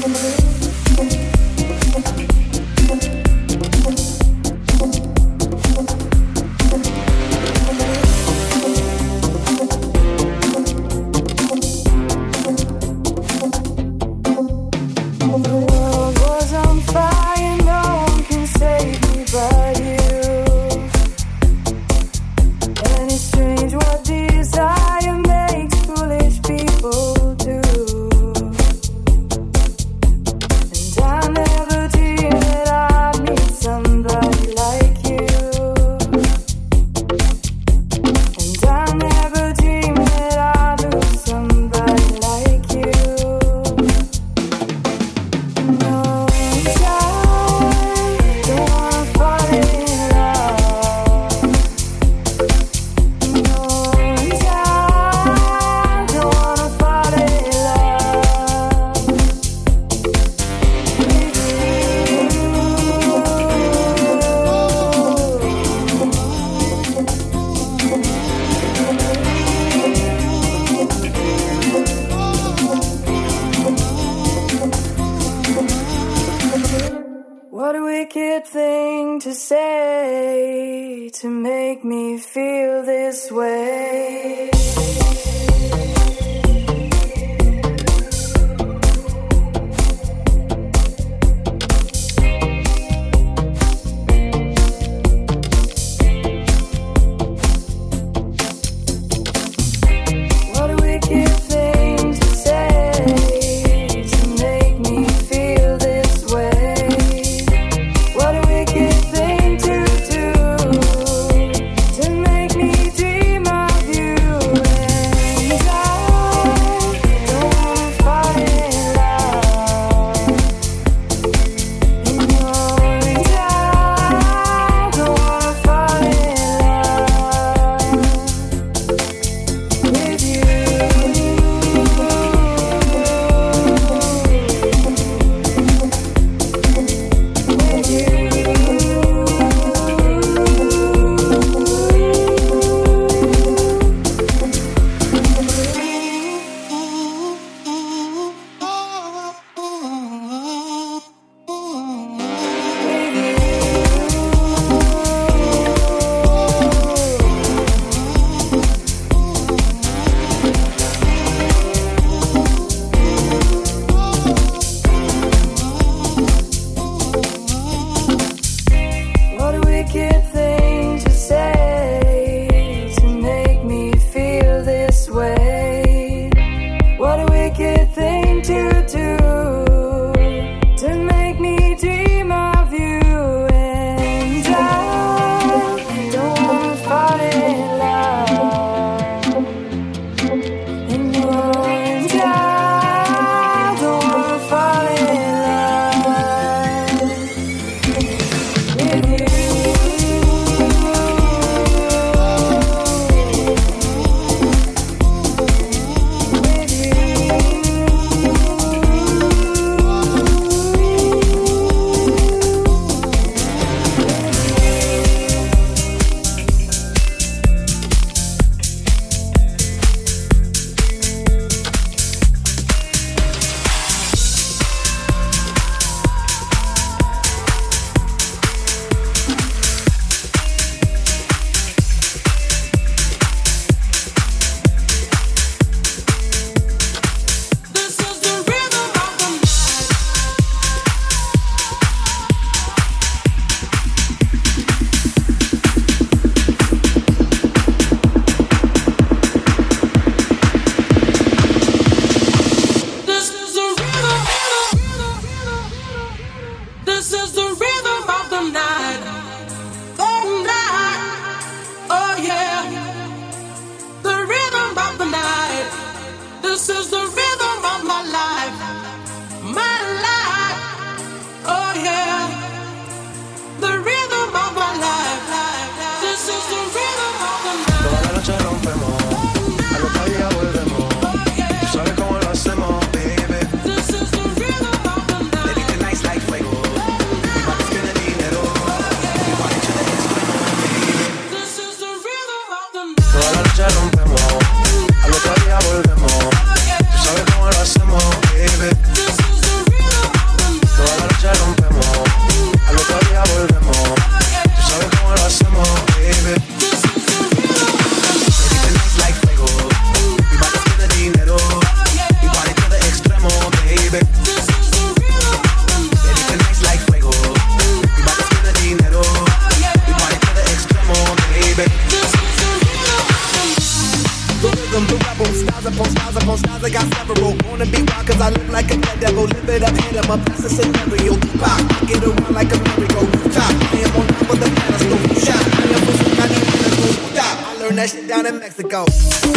Dream of you and I that devil, live it up, hit him up, that's a scenario. Pop, get around like a merry-go. Top, I am on top of the pedestal. Shot, I am so sick, I need to stop. I learned that shit down in Mexico.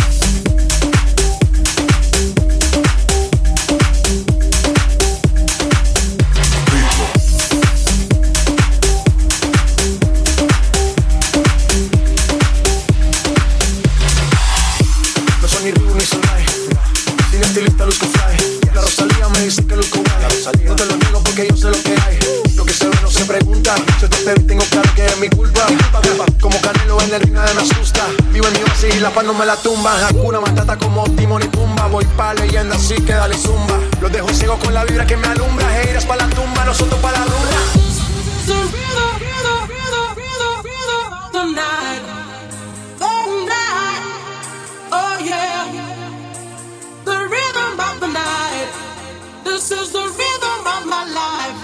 No te lo niego porque yo sé lo que hay. Lo que se ve no se pregunta. Si te vi, tengo claro que es mi culpa. Como Canelo en el ring nadie me asusta. Vivo en mi oasis y la paz no me la tumba. Hakuna Matata como Timon y Pumba. Voy pa' leyenda así que dale zumba. Los dejo ciego con la vibra que me alumbra. Heiras pa' la tumba, nosotros pa' la rumba. The night, oh yeah, the rhythm of the night. This is the rhythm of my life,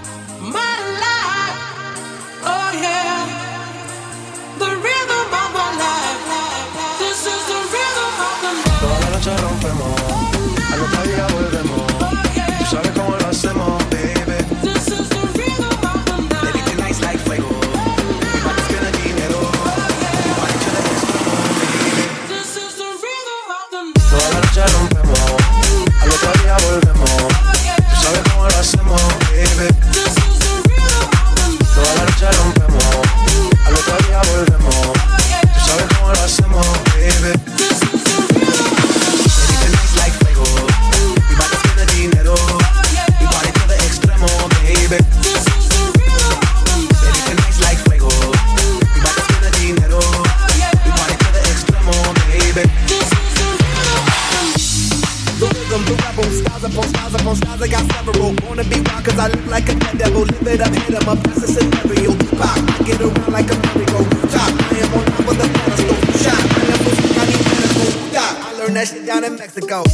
oh yeah, the rhythm of my life. This is the rhythm of the night. Toda la noche rompemos, al otro día volvemos. Tú sabes cómo lo hacemos, baby. This is the rhythm of the night. Baby, tonight's like fuego. Mi body spend dinero. Mi body to the extremo, baby. This is the rhythm of the night. Toda la noche rompemos, al otro día volvemos. Tú sabes cómo lo hacemos, baby. This is the rhythm of the night. Toda la noche rompemos, al otro día volvemos. Tú sabes cómo lo hacemos, baby. This is the rhythm. Baby, tonight's like fuego. Mi body spend dinero. Mi body to the extremo, baby. This is the rhythm of the night. Baby, tonight's like fuego. Mi body spend dinero. Mi body to the extremo, baby. This is the rhythm of the night. The rhythm, the rebel, styles upon styles upon styles, I got several. Wanna be wild cause I look like a dead devil. Live it up, hit him up, that's a scenario. Pop, get around like a merry-go. Top, I am on top of the pedestal. Shot, I am so sick, I need medical. Stop, I learned that shit down in Mexico.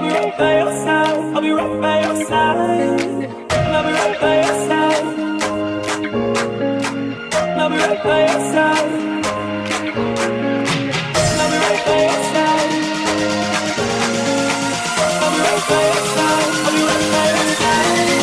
be right by your side. I'll be right by your side. I'll be right by your side. I'll be right by your side. I'll be right by your side. I'll be right by your side. I'll be right by your side.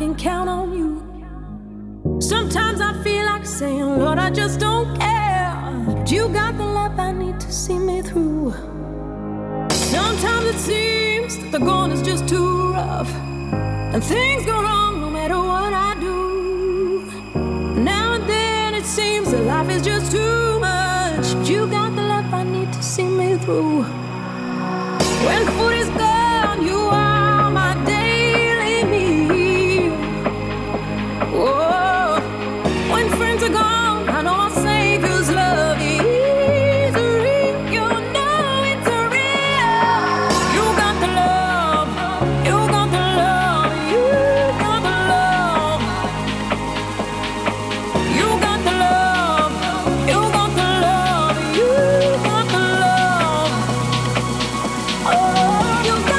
can count on you. Sometimes I feel like saying, Lord, I just don't care. But you got the love I need to see me through. Sometimes it seems that the going is just too rough, and things go wrong no matter what I do. Now and then it seems that life is just too much, but you got the love I need to see me through. When food is gone, you are my daily meal. Oh, when friends are gone, I know our Savior's love is real. You know it's real. You got the love, you got the love, you got the love. You got the love, you got the love, you got the love. Oh, you got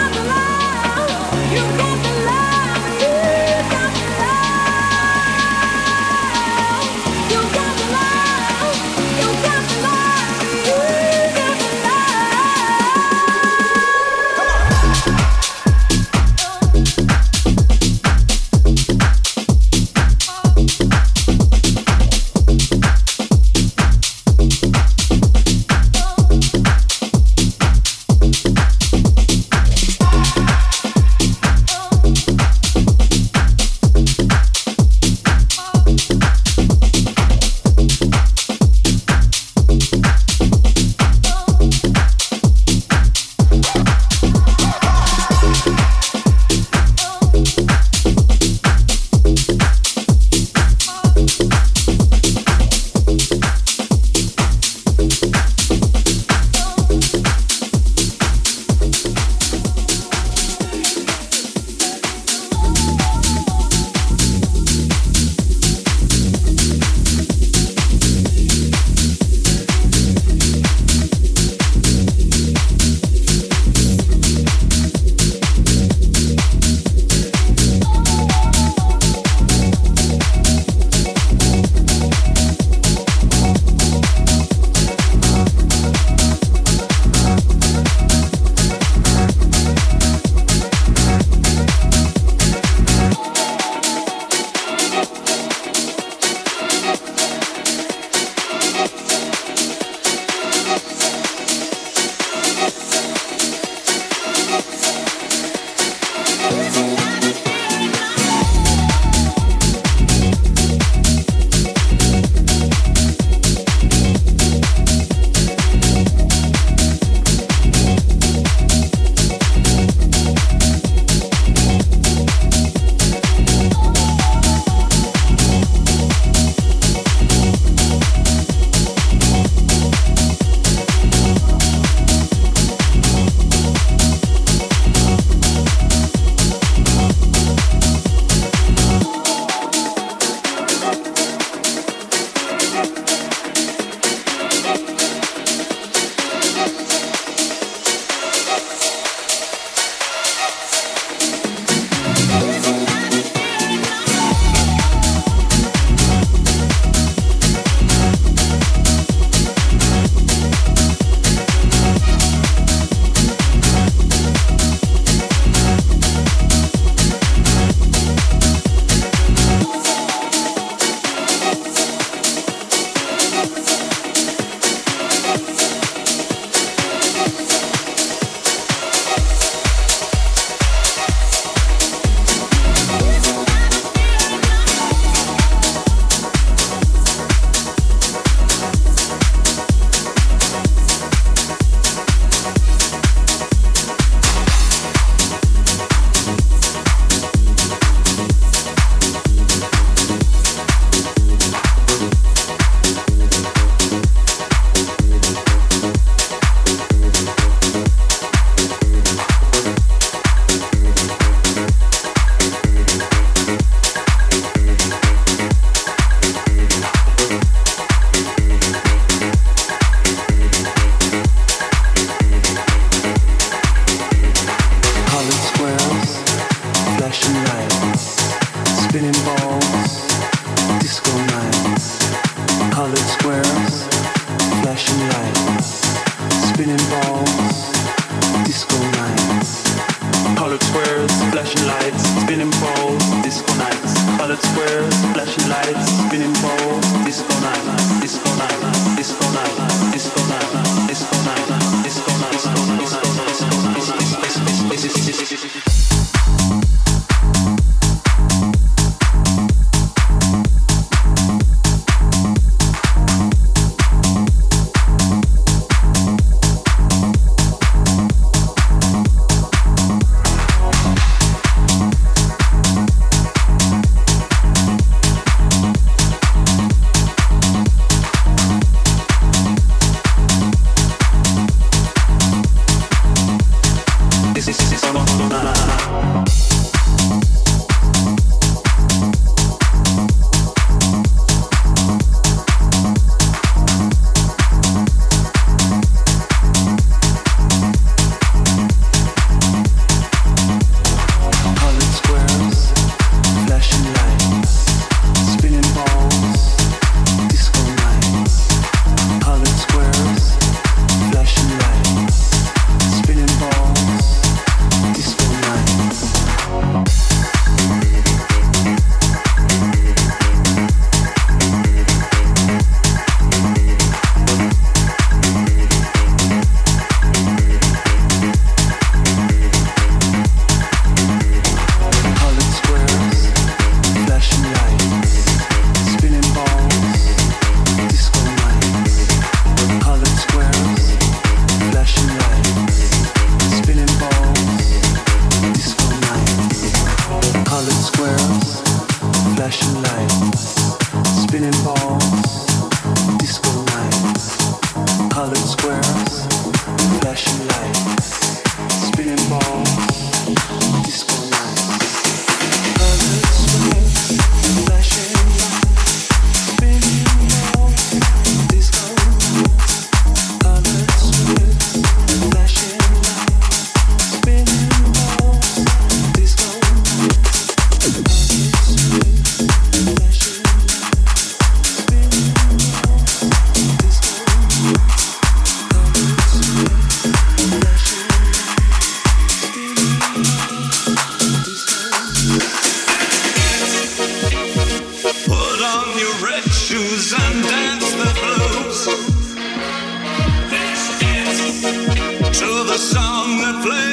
flame.